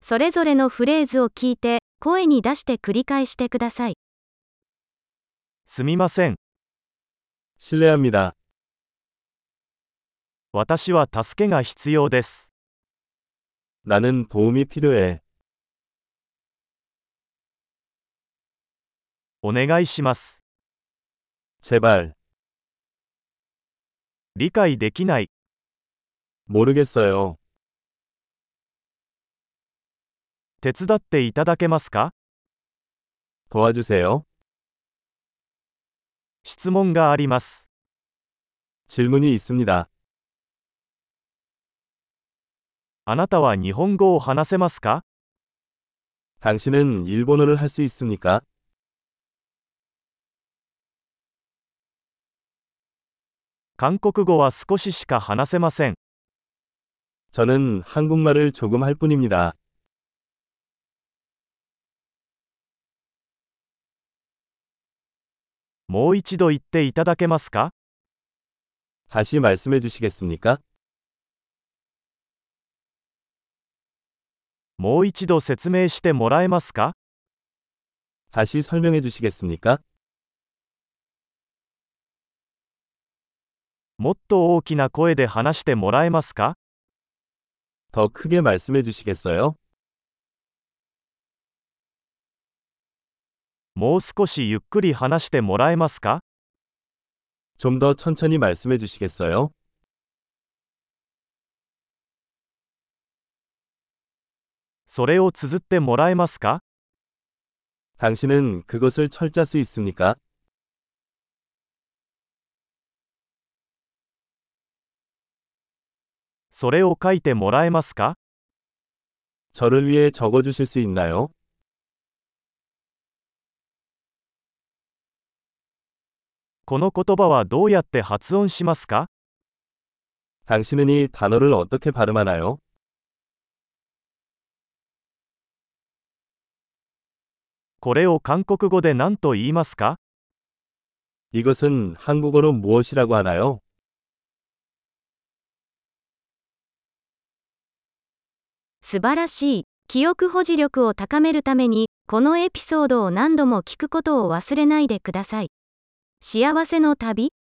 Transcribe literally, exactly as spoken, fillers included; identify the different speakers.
Speaker 1: それぞれのフレーズを聞いて、声に出して繰り返してください。
Speaker 2: すみません。
Speaker 3: 실례합니다.
Speaker 2: 私は助けが必要です。
Speaker 3: 나는 도움이 필요해.
Speaker 2: お願いします。
Speaker 3: 제발.
Speaker 2: 理解できない。
Speaker 3: 모르겠어요.
Speaker 2: 手伝っていただけますか？
Speaker 3: 도와주세요.
Speaker 2: 質問があります。
Speaker 3: 질문이 있습니다.
Speaker 2: あなたは日本語を話せますか？
Speaker 3: 당신은 일본어를 할 수 있습니까?
Speaker 2: 韓国語は少ししか話せません。
Speaker 3: 저는 한국말을 조금 할 뿐입니다.
Speaker 2: もう一度言っていただけますか？
Speaker 3: 다시 말씀해 주시겠습니까?
Speaker 2: もう一度説明してもらえますか？
Speaker 3: 다시 설명해 주시겠습니까?
Speaker 2: もっと大きな声で話してもらえますか？
Speaker 3: 더 크게 말씀해 주시겠어요?
Speaker 2: もう少しゆっくり話してもらえますか？
Speaker 3: 좀 더 천천히 말씀해 주시겠어요?
Speaker 2: それを綴ってもらえますか？
Speaker 3: 당신은 그것을 철자 수 있습니까?
Speaker 2: それを書いてもらえますか？
Speaker 3: 저를 위해 적어 주실 수 있나요?
Speaker 2: この言葉はどうやって発音しますか？
Speaker 3: 당신은 이 단어를 어떻게 발음하나요?
Speaker 2: これを韓国語で何と言いますか？
Speaker 3: 이것은 한국어로 무엇이라고 하나요?
Speaker 1: 素晴らしい。記憶保持力を高めるために、このエピソードを何度も聞くことを忘れないでください。幸せの旅